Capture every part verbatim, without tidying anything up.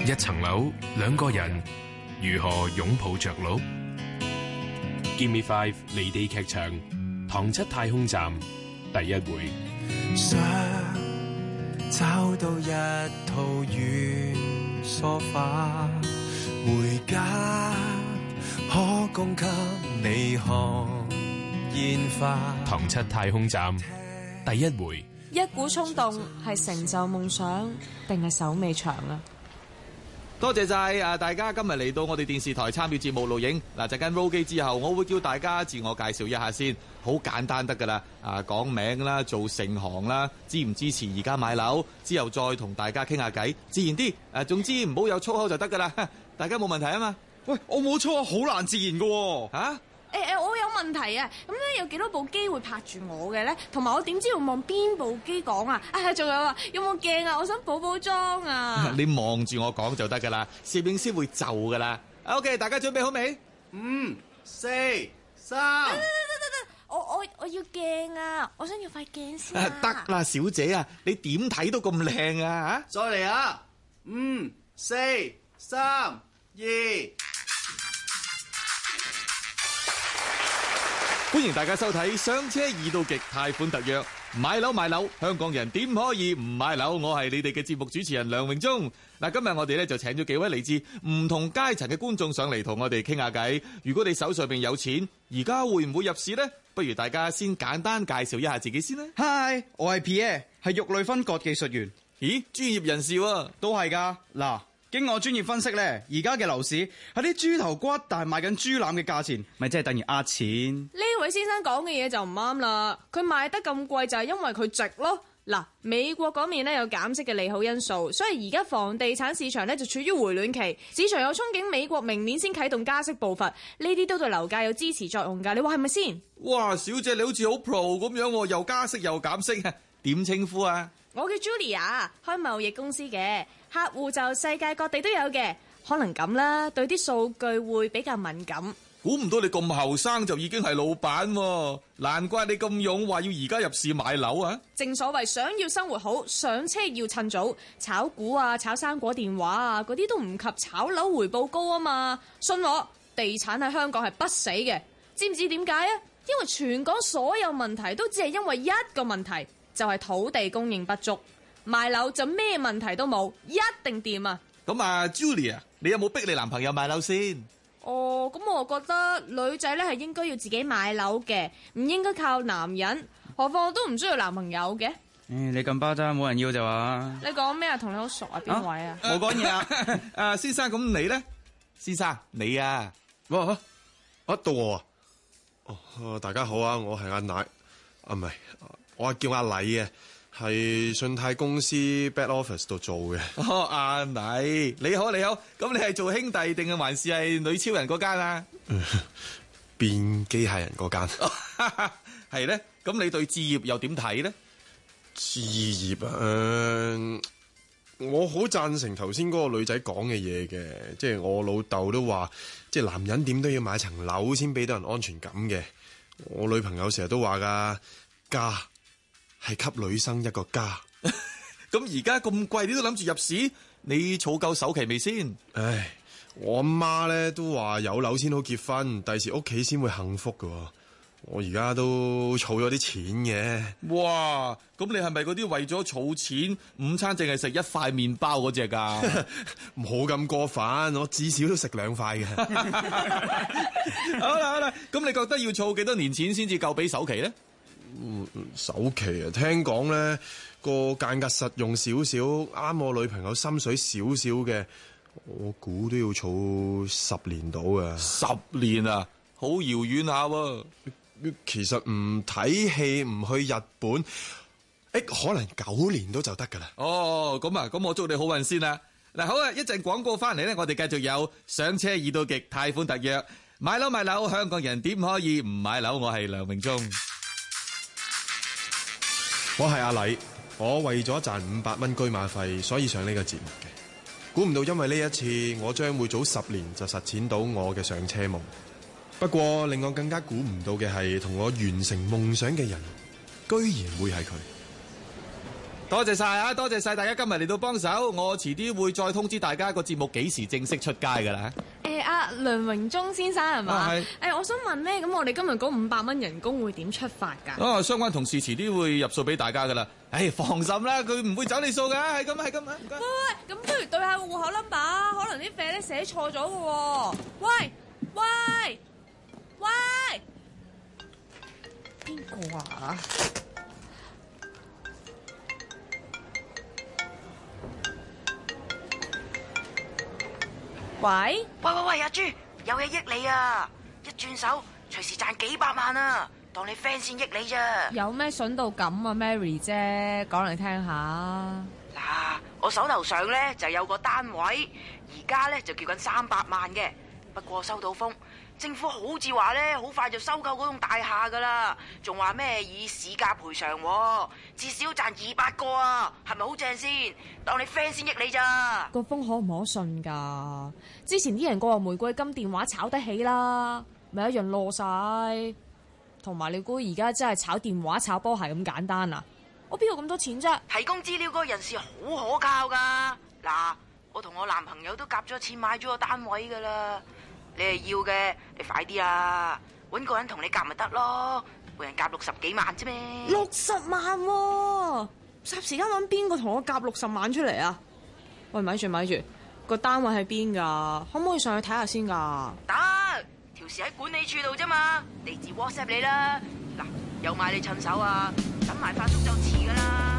一層樓，兩個人如何擁抱着陸 ？Give Me Five 離地劇場，唐七太空站第一回。 想找到一套軟梳化，回家可供給你看煙花。 唐七太空站第一回。 一股衝動係成就夢想定係手尾長啊？ 多謝晒啊！大家今日嚟到我哋電視台參與節目錄影嗱，陣間 roll 機之後，我會叫大家自我介紹一下先，好簡單得噶啦。啊，講名啦，做成行啦，支唔支持而家買樓，之後再同大家傾下偈，自然啲。誒，總之唔好有粗口就得噶啦。大家冇問題啊嘛？ 喂，我冇粗口，好難自然噶喎。 吓、啊？ 誒誒、欸，我有問題啊！咁咧有幾多部機會拍住我嘅咧？同埋我點知要望邊部機講啊？啊，仲有啊，有冇鏡啊？我想補補妝啊！ 你望住我講就得噶啦，攝影師會就噶啦。OK， 大家準備好未？ 五、四、三。 得得得得得，我我我要鏡啊！我想要塊鏡先啊！ 得啦，小姐啊，你點睇都咁靚啊！ 再嚟啊！五、四、三、二。 歡迎大家收睇上車易到極貸款特約，買樓買樓，香港人點可以唔買樓？我係你哋嘅節目主持人梁榮忠。嗱，今日我哋咧就請咗幾位嚟自唔同階層嘅觀眾上嚟同我哋傾下偈。如果你手上邊有錢，而家會唔會入市呢？不如大家先簡單介紹一下自己先啦。 Hi， 我係 Pierre， 係肉類分割技術員。 咦，專業人士喎， 都係噶。嗱，經我專業分析咧，而家嘅樓市係啲豬頭骨，但係賣緊豬腩嘅價錢，咪即係等於呃錢。 呢位先生講嘅嘢就唔啱啦，佢賣得咁貴就係因為佢值咯。嗱，美國嗰面咧有減息嘅利好因素，所以而家房地產市場咧就處於回暖期，市場有憧憬美國明年先啟動加息步伐，呢啲都對樓價有支持作用噶，你話係咪先？ 哇，小姐你好似好 pro 咁樣，又加息又減息，點稱呼啊？ 我叫 Julia， 開貿易公司嘅，客戶就世界各地都有嘅，可能咁啦，對啲數據會比較敏感。 估唔到你咁後生就已經係老闆，難怪你咁勇，話要而家入市買樓啊！ 正所謂想要生活好，上車要趁早，炒股啊、炒生果電話啊，嗰啲都唔及炒樓回報高啊嘛！信我，地產喺香港係不死嘅，知唔知點解啊？因為全港所有問題都只係因為一個問題，就係土地供應不足，賣樓就咩問題都冇，一定掂啊！ 咁啊 ，Julia， 你有冇逼你男朋友買樓先？ 哦，咁我覺得女仔咧係應該要自己買樓嘅，唔應該靠男人。何況我都唔需要男朋友嘅。誒、 嗯，你咁巴渣，冇人要就話。 你講咩啊？同你好熟啊？邊位啊？ 冇講嘢啊！ 誒，先生，咁你咧？先生，你啊？ 哇，啊到我啊！哦，大家好啊，我係阿奶，啊唔係，我係叫阿禮嘅。係信貸公司 back office 度做嘅。 哦，阿禮，你好你好，咁你係做兄弟定係還是係女超人嗰間啊？ 變機械人嗰間。 係咧，咁你對置業又點睇咧？ 置業啊，呃、我好贊成頭先嗰個女仔講嘅嘢嘅，即係我老豆都話，即係男人點都要買層樓先俾到人安全感嘅。我女朋友成日都話噶，家係給女生一個家。 咁而家咁貴，你都諗住入市？你儲夠首期未先？ 唉，我阿媽咧都話有樓先好結婚，第時屋企先會幸福噶。我而家都儲咗啲錢嘅。 哇！咁你係咪嗰啲為咗儲錢，午餐淨係食一塊麵包嗰隻噶？ 冇咁過分，我至少都食兩塊嘅。 好啦好啦，咁你覺得要儲幾多年錢先至夠俾首期咧？ 嗯，首期啊，聽講咧個間隔實用少少，啱我女朋友心水少少嘅，我估都要儲十年到啊！ 十年啊，好遙遠下喎。 其實唔睇戲唔去日本，誒，可能九年都就得噶啦。 哦，咁啊，咁我祝你好運先啦。嗱，好啊，一陣廣告翻嚟咧，我哋繼續有上車易到極貸款特約，買樓買樓，香港人點可以唔買樓？我係梁榮忠。 我係阿禮，我為咗賺五百蚊居馬費，所以上呢個節目嘅。估唔到因為呢一次，我將會早十年就實踐到我嘅上車夢。不過令我更加估唔到嘅係，同我完成夢想嘅人，居然會係佢。 多謝晒啊！多謝晒大家今日嚟到幫手，我遲啲會再通知大家個節目幾時正式出街㗎啦。 誒阿梁榮忠先生係嘛？ 啊係誒，我想問咧，咁我哋今日嗰五百蚊人工會點出發㗎？ 啊，相關同事遲啲會入數俾大家㗎啦。誒，放心啦，佢唔會走你數㗎，係咁係咁啊，唔該。 喂喂，咁不如對下個戶口 number，可能啲費咧寫錯咗嘅喎。喂喂喂，邊個啊？喂喂喂喂，阿朱，有嘢益你啊！一轉手隨時賺幾百萬啊！當你 friend 先益你咋？ 有咩筍到咁啊 ，Mary 姐，講嚟聽下。 嗱，我手頭上咧就有個單位，而家咧就叫緊三百萬嘅。不過收到風，政府好似話咧好快就收購嗰棟大廈噶啦，仲話咩以市價賠償，至少賺二百個啊，係咪好正先？當你 friend 先益你咋？ 個風可唔可信㗎？之前啲人個話玫瑰金電話炒得起啦，咪一樣落晒。同埋你估而家真係炒電話炒波鞋咁簡單啊？我邊有咁多錢啫？ 提供資料嗰個人士好可靠噶。嗱，我同我男朋友都夾咗錢買咗個單位噶啦。你係要嘅，你快啲啊！搵個人同你夾咪得咯，每人夾六十幾萬啫咩？ 六十萬喎，霎時間揾邊個同我夾六十萬出嚟啊？喂，咪住咪住，個單位喺邊㗎？可唔可以上去睇下先㗎？ 得，條匙喺管理處度啫嘛，地址 WhatsApp 你啦。嗱，有買你趁手啊，等埋發叔就遲噶啦。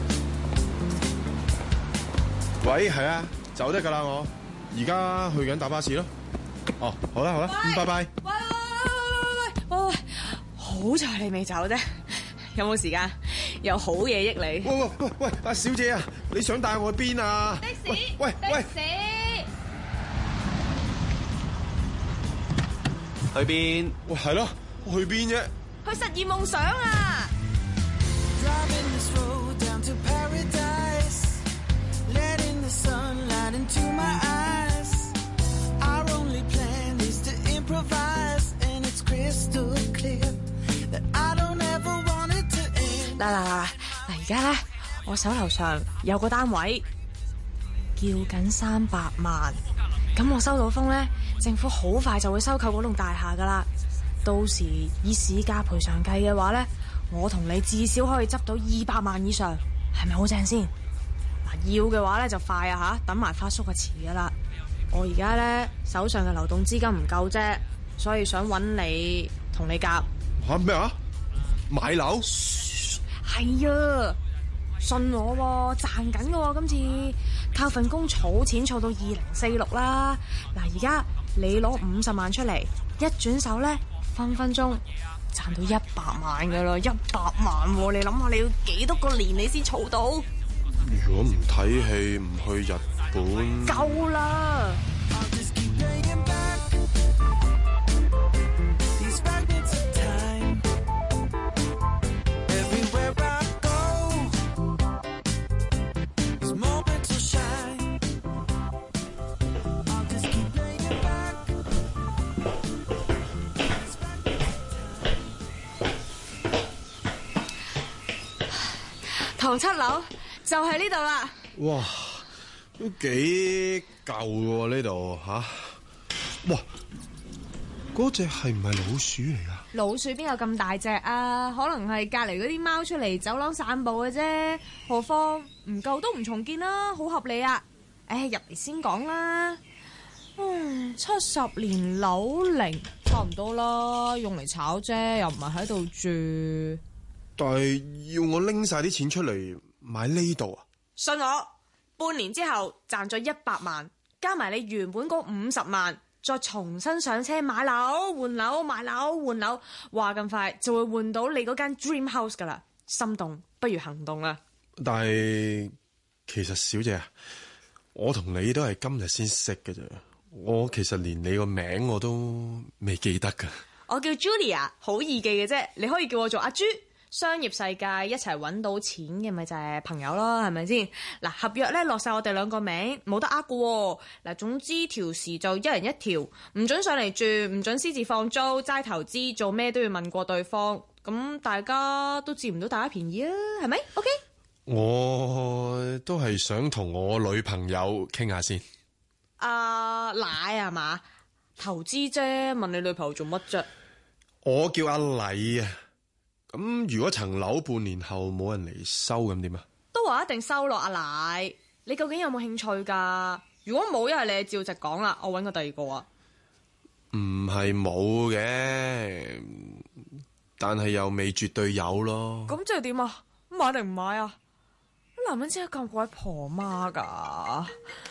喂，係啊，走得噶啦我，而家去緊搭巴士咯。哦，好啦好啦，嗯，拜拜。 喂喂喂喂喂喂，好彩你未走啫，有冇時間？有好嘢益你。 喂喂喂喂，阿小姐啊，你想帶我去邊啊？ 的士， 喂喂， 的士。 去邊？ 喂，係咯，去邊啫？ 去實現夢想啊！嗱嗱嗱嗱！而家咧，我手頭上有個單位，叫緊三百萬。咁我收到風咧，政府好快就會收購嗰棟大廈噶啦。到時以市價賠償計嘅話咧，我同你至少可以執到二百萬以上，係咪好正先？嗱，要嘅話咧就快啊吓，等埋發叔就遲噶啦。我而家咧手上嘅流動資金唔夠啫，所以想揾你同你夾。 吓咩啊？買樓？ 係啊，信我喎，賺緊嘅喎，今次靠份工儲錢儲到二零四六啦。嗱，而家你攞五十萬出嚟，一轉手咧，分分鐘賺到一百萬噶啦，一百萬喎！你諗下，你要幾多個年你先儲到？ 如果唔睇戲，唔去日本， 夠啦！唐七樓就係呢度啦。 哇，都幾舊喎呢度吓。哇，嗰隻係唔係老鼠嚟噶？ 老鼠邊有咁大隻啊？可能係隔籬嗰啲貓出嚟走廊散步嘅啫。何況唔夠都唔重建啦，好合理啊。誒，入嚟先講啦。嗯，七十年樓齡差唔多啦，用嚟炒啫，又唔係喺度住。 但係要我拎晒啲錢出嚟買呢度啊？ 信我，半年之後賺咗一百萬，加埋你原本嗰五十萬，再重新上車買樓換樓買樓換樓，話咁快就會換到你嗰間 dream house 噶啦。心動不如行動啦！ 但係其實小姐啊，我同你都係今日先識嘅啫，我其實連你個名我都未記得噶。 我叫 Julia， 好易記嘅啫，你可以叫我做阿朱。商業世界一齊揾到錢嘅咪就係朋友咯，係咪先？嗱，合約咧落晒我哋兩個名，冇得呃㗎喎。嗱，總之條時就一人一條，唔准上嚟住，唔准私自放租，齋投資，做咩都要問過對方。咁大家都佔唔到大家便宜啊，係咪 ？OK？ 我都係想同我女朋友傾下先。 阿奶係嘛？投資啫，問你女朋友做乜啫？ 我叫阿禮啊。咁如果層樓半年後冇人嚟收，咁點啊？ 都話一定收落阿奶。你究竟有冇興趣噶？如果冇，一係你照直講啦，我搵個第二個啊。 唔係冇嘅，但係又未絕對有咯。 咁即係點啊？買定唔買啊？男人真係咁鬼婆媽噶。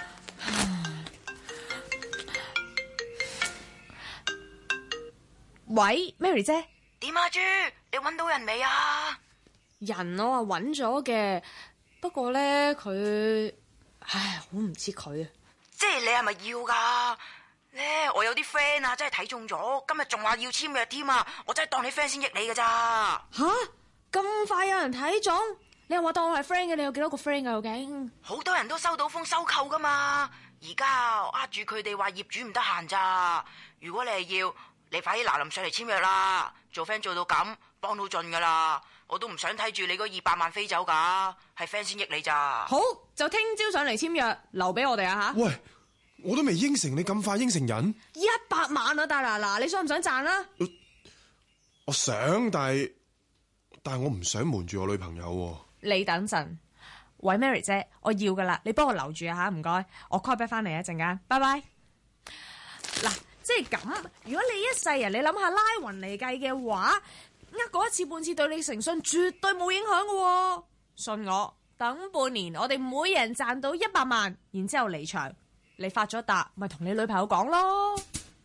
喂 ，Mary 姐， 點啊，豬？你搵到人未啊？ 人我話搵咗嘅，不過咧佢，唉，好唔知佢啊。 即係你係咪要噶？咧我有啲 friend 啊，真係睇中咗，今日仲話要簽約添啊！我真係當你 friend 先益你噶咋。 吓，咁快有人睇中？你又話當我係 friend 嘅，你有幾多個 friend 噶？究竟好多人都收到風收購噶嘛，而家呃住佢哋話業主唔得閒咋。如果你係要，你快啲嗱臨上嚟簽約啦，做 friend 做到咁，幫到盡噶啦。我都唔想睇住你嗰二百萬飛走噶，係 friend 先益你咋。 好，就聽朝上嚟簽約，留俾我哋啊吓。 喂，我都未應承你咁快應承人。 一百萬啊，大嗱嗱，你想唔想賺啊？ 我，我想，但係但係我唔想瞞住我女朋友。 你等陣，喂 Mary 姐，我要噶啦，你幫我留住啊吓，唔該，我 call back 翻嚟一陣間，拜拜。嗱，即係咁，如果你一世人，你諗下拉勻嚟計嘅話，呃過一次半次對你誠信絕對冇影響噶。信我，等半年，我哋每人賺到一百萬，然之後離場，你發咗達，咪同你女朋友講咯。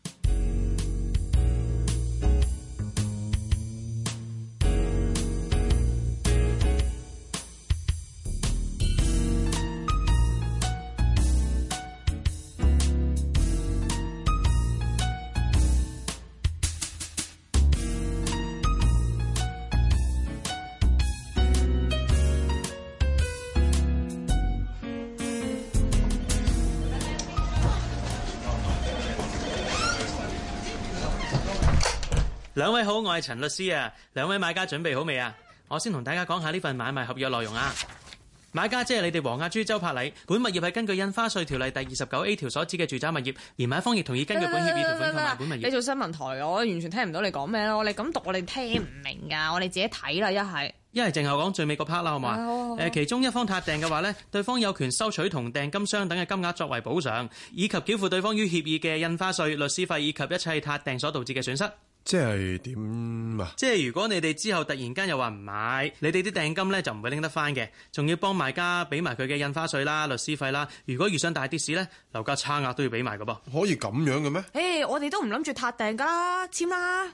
兩位好，我係陳律師啊。兩位買家準備好未啊？我先同大家講下呢份買賣合約內容啊。買家即係你哋黃亞珠周柏禮，本物業係根據印花稅條例第二十九 A 條所指嘅住宅物業，而買方亦同意根據本協議條款購買本物業。 你做新聞台嘅，我完全聽唔到你講咩咯。你咁讀我哋聽唔明噶，我哋自己睇啦。一係一係淨係講最尾個 part 啦，好嘛？誒，其中一方撻訂嘅話呢，對方有權收取同訂金相等嘅金額作為補償，以及繳付對方於協議嘅印花稅、律師費以及一切撻訂所導致嘅損失。 即係點啊？ 即係如果你哋之後突然間又話唔買，你哋啲訂金咧就唔會拎得翻嘅，仲要幫賣家俾埋佢嘅印花稅啦、律師費啦。如果遇上大跌市咧，樓價差額都要俾埋噶噃。 可以咁樣嘅咩？ 誒， hey, 我哋都唔諗住撻訂噶啦，簽啦，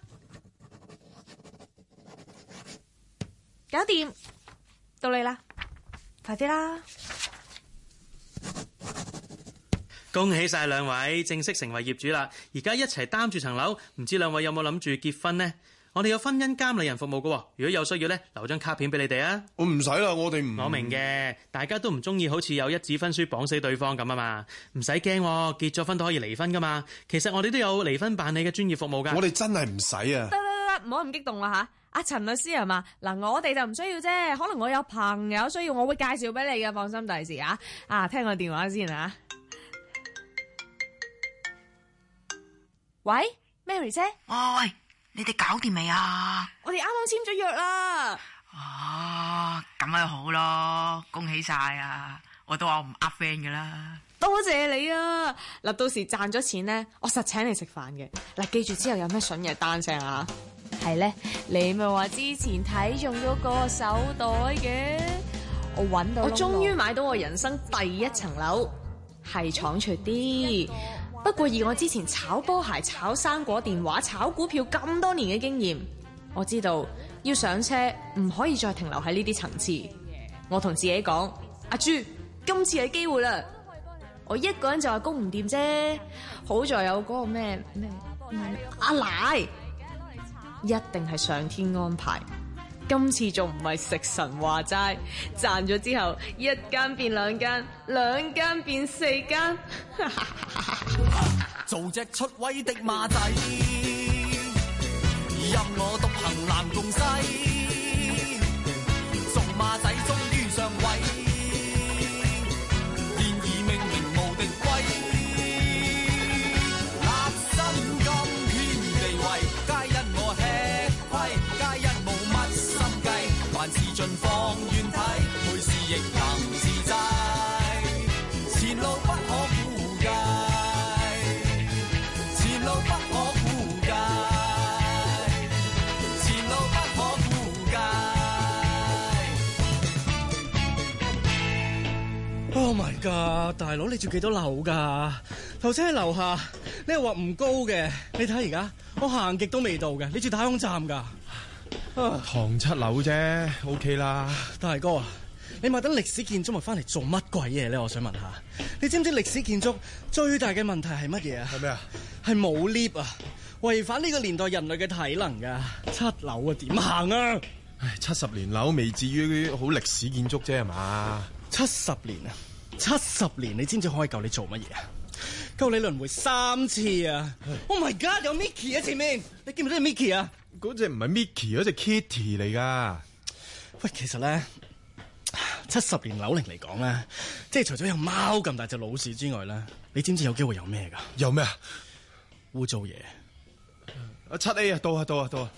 搞掂，到你啦，快啲啦！ 恭喜晒兩位正式成為業主啦！而家一齊擔住層樓，唔知兩位有冇諗住結婚呢？我哋有婚姻監理人服務噶，如果有需要咧，留張卡片俾你哋啊！ 我唔使啦，我哋唔我明嘅，大家都唔中意好似有一紙婚書綁死對方咁啊嘛，唔使驚，結咗婚都可以離婚噶嘛。其實我哋都有離婚辦理嘅專業服務噶。 我哋真係唔使啊！ 得得得，唔好咁激動啦吓！阿陳律師係嘛？嗱，我哋就唔需要啫，可能我有朋友需要，我會介紹俾你嘅，放心第時啊！啊，聽個電話先啊！喂 ，Mary 姐， 喂喂，你哋搞掂未啊？ 我哋啱啱簽咗約啦。 哦，咁咪好咯，恭喜晒啊！我都話我唔呃 friend 噶啦。 多謝你啊！嗱，到時賺咗錢咧，我實請你食飯嘅。嗱，記住之後有咩筍嘢單聲啊？係咧，你咪話之前睇中咗個手袋嘅，我搵到，我終於買到我人生第一層樓，係倉促啲。不過以我之前炒波鞋、炒生果電話、炒股票咁多年嘅經驗，我知道要上車唔可以再停留喺呢啲層次。我同自己講：阿朱，今次係機會啦！我一個人就話供唔掂啫，好在有嗰個咩咩阿奶，一定係上天安排。今次仲唔係食神話齋，賺咗之後一間變兩間，兩間變四間。 做隻出位的馬仔，任我獨行南共西，做馬仔終於上位。 行自在，前路不可估計，前路不可估計，前路不可估計。 Oh my god！ 大佬你住幾多樓㗎？頭先喺樓下，你又話唔高嘅，你睇而家我行極都未到嘅，你住太空站㗎？ 唐七樓啫 ，OK 啦。 大哥啊，你買等歷史建築物翻嚟做乜鬼嘢咧？我想問下，你知唔知歷史建築最大嘅問題係乜嘢啊？ 係咩啊？ 係冇 lift 啊，違反呢個年代人類嘅體能㗎。七樓啊，點行啊？ 唉，七十年樓未至於好歷史建築啫係嘛？ 七十年啊，七十年，你知唔知可以夠你做乜嘢啊？夠你輪迴三次啊 ！Oh my god， 有 Mickey 喺前面，你見唔見到 Mickey 啊？ 嗰隻唔係 Mickey， 嗰隻 Kitty 嚟噶。 喂，其實咧，七十年樓齡嚟講咧，即係除咗有貓咁大隻老鼠之外咧，你知唔知有機會有咩噶？ 有咩啊？ 污糟嘢。 啊七 A 啊，到啊到啊到啊！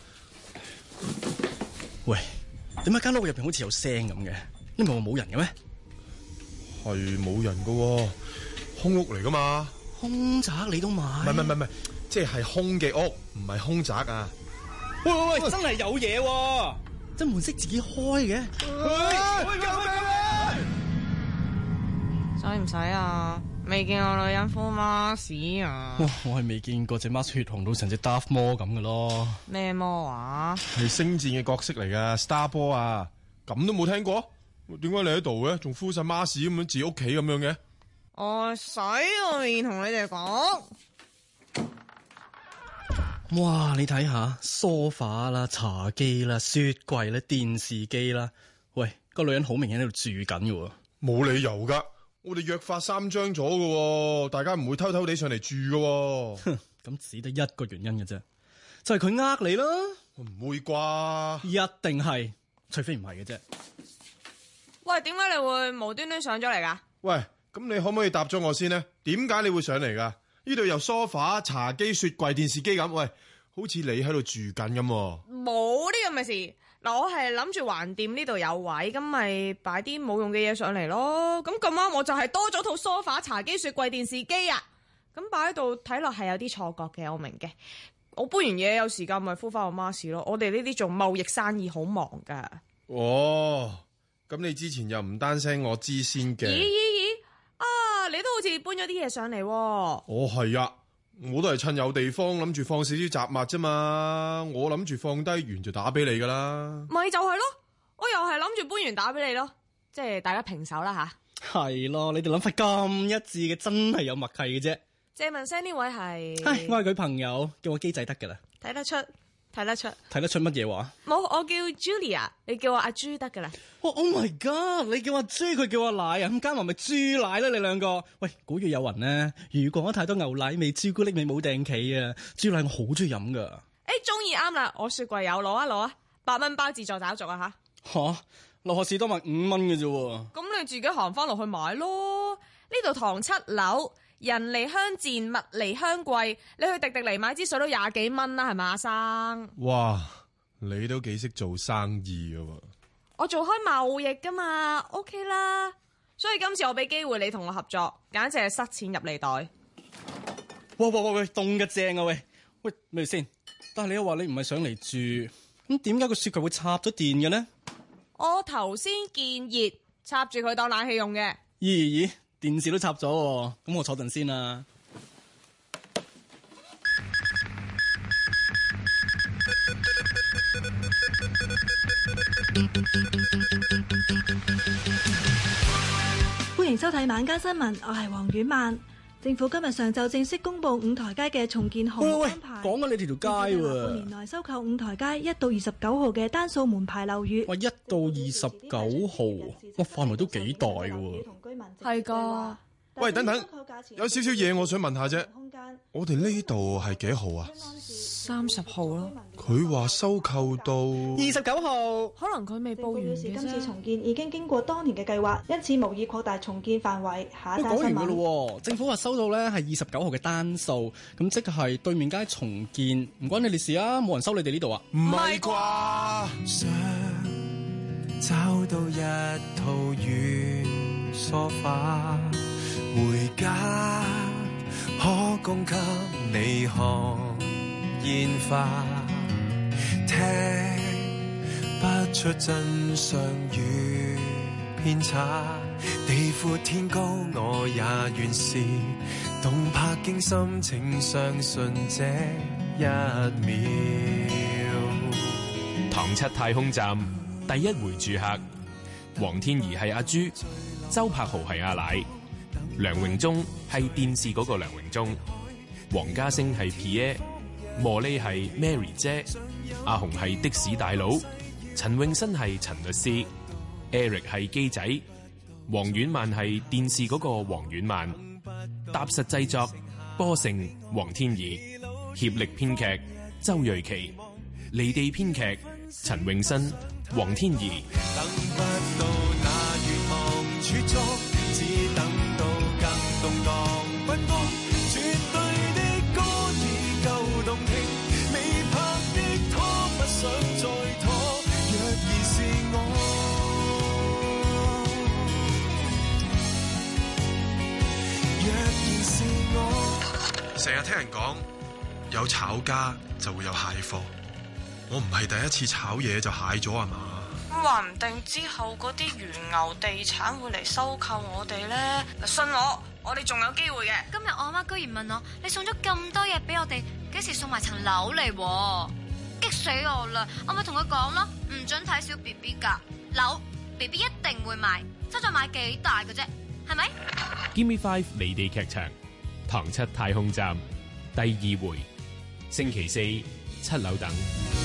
喂，點解間屋入邊好似有聲咁嘅？你唔係話冇人嘅咩？ 係冇人噶喎，空屋嚟噶嘛？ 空宅你都買？ 唔係唔係唔係，即係空嘅屋，唔係空宅啊！ 喂喂喂，真係有嘢喎！真門識自己開嘅。 喂，救命啊！ 使唔使啊？未見過女人敷 mask 啊！ 哇，我係未見過隻 mask 血紅到成隻 Darth Maul 咁嘅咯。 咩魔啊？ 係星戰嘅角色嚟噶 ，Star 波啊！咁都冇聽過？點解你喺度嘅？仲敷晒 mask 咁樣自己屋企咁樣嘅？ 我洗個面同你哋講。 哇！你睇下梳化啦、茶几啦、雪櫃啦、電視機啦，喂，個女人好明顯喺度住緊嘅。 冇理由噶，我哋約法三章咗嘅，大家唔會偷偷地上嚟住嘅。 哼，咁只得一個原因嘅啫，就係佢呃你啦。 唔會啩？ 一定係，除非唔係嘅啫。 喂，點解你會無端端上咗嚟噶？ 喂，咁你可唔可以答咗我先呢？點解你會上嚟噶？呢度有梳化、茶几、雪櫃、電視機咁，喂，好似你喺度住緊咁。 冇呢咁嘅事。嗱，我係諗住橫掂呢度有位，咁咪擺啲冇用嘅嘢上嚟咯。咁咁啱我就係多咗套梳化、茶几、雪櫃、電視機啊。咁擺喺度睇落係有啲錯覺嘅，我明嘅。我搬完嘢有時間咪敷翻個 mask 咯。我哋呢啲做貿易生意好忙噶。 哦。咁你之前又唔單聲我知先嘅？ 咦咦咦！啊，你都好似搬咗啲嘢上嚟喎。 哦，係啊，我都係趁有地方諗住放少少雜物啫嘛。我諗住放低完就打俾你噶啦。 咪就係咯，我又係諗住搬完打俾你咯，即係大家平手啦吓。 係咯，你哋諗法咁一致嘅，真係有默契嘅啫。 借問聲呢位係？ 唉，我係佢朋友，叫我機仔得噶啦。 睇得出。睇得出， 睇得出乜嘢話？ 冇，我叫 Julia， 你叫我阿朱得噶啦。 哦 ，Oh my God！ 你叫阿朱，佢叫阿奶啊，咁加埋咪豬奶啦，你兩個。喂，古語有云呢，如果太多牛奶味，朱古力味冇定企啊！豬奶我好中意飲噶。 誒，中意啱啦，我雪櫃有，攞一攞啊，八蚊包自助找續啊吓。 吓，落學士多賣五蚊嘅啫。 咁你自己行翻落去買咯。呢度唐七樓。人離鄉賤，物離鄉貴，你去迪迪尼買支水都廿幾蚊啦，係咪阿生？ 哇，你都幾識做生意噶喎！ 我做開貿易噶嘛 ，OK 啦。所以今次我俾機會你同我合作，簡直係塞錢入你袋。 哇哇哇喂，凍嘅正啊喂！喂，咪先？但係你又話你唔係上嚟住，咁點解個雪櫃會插咗電嘅呢？ 我頭先見熱，插住佢當冷氣用嘅。 咦咦？電視都插咗，咁我坐陣先啦。 歡迎收睇晚間新聞，我係黃婉曼。政府今日上晝正式公布五台街嘅重建項目安排。 講緊你條條街喎。 半年內收購五台街一到二十九號嘅單數門牌樓宇。 哇，一到二十九號，哇，範圍都幾大嘅喎。 係噶。 喂，等等，有少少嘢我想問下啫。我哋呢度係幾號啊？ 三十號咯。 佢話收購到二十九號， 可能佢未報完嘅啫。 今次重建已經經過多年嘅計劃，因此無意擴大重建範圍。下一單新聞。 講完噶咯，政府話收到咧係二十九號嘅單數，咁即係對面街重建，唔關你哋事啊，冇人收你哋呢度啊。 唔係啩？ 找到一套軟梳化，回家可供給你看煙花，聽不出真相與偏差，地闊天高我也願是動魄驚心，請相信這一秒。 唐七太空站第一回住客，黃天怡係阿朱，周柏豪係阿奶，梁榮忠係電視嗰個梁榮忠，黃家星係 Pierre， 茉莉係 Mary 姐，阿紅係的士大佬，陳詠燊係陳律師， Eric 係機仔，黃婉曼係電視嗰個黃婉曼，踏實製作波盛黃天怡，協力編劇周瑞琪，離地編劇陳詠燊黃天怡。 等不到那願望儲足，只等到更動盪不安，絕對的歌已夠動聽，未拍的拖不想再拖，若然是我，若然是我。 成日聽人講有炒家就會有蟹貨，我唔係第一次炒嘢就蟹咗啊嘛。 話唔定之後嗰啲原牛地產會嚟收購我哋咧，信我，我哋仲有機會嘅。 今日我阿媽居然問我，你送咗咁多嘢俾我哋，幾時送埋層樓嚟？激死我啦！我咪同佢講咯，唔准睇小 B B 噶，樓 B B 一定會買，爭在買幾大嘅啫，係咪 Give Me Five 離地劇場，唐七太空站第二回，星期四七樓等。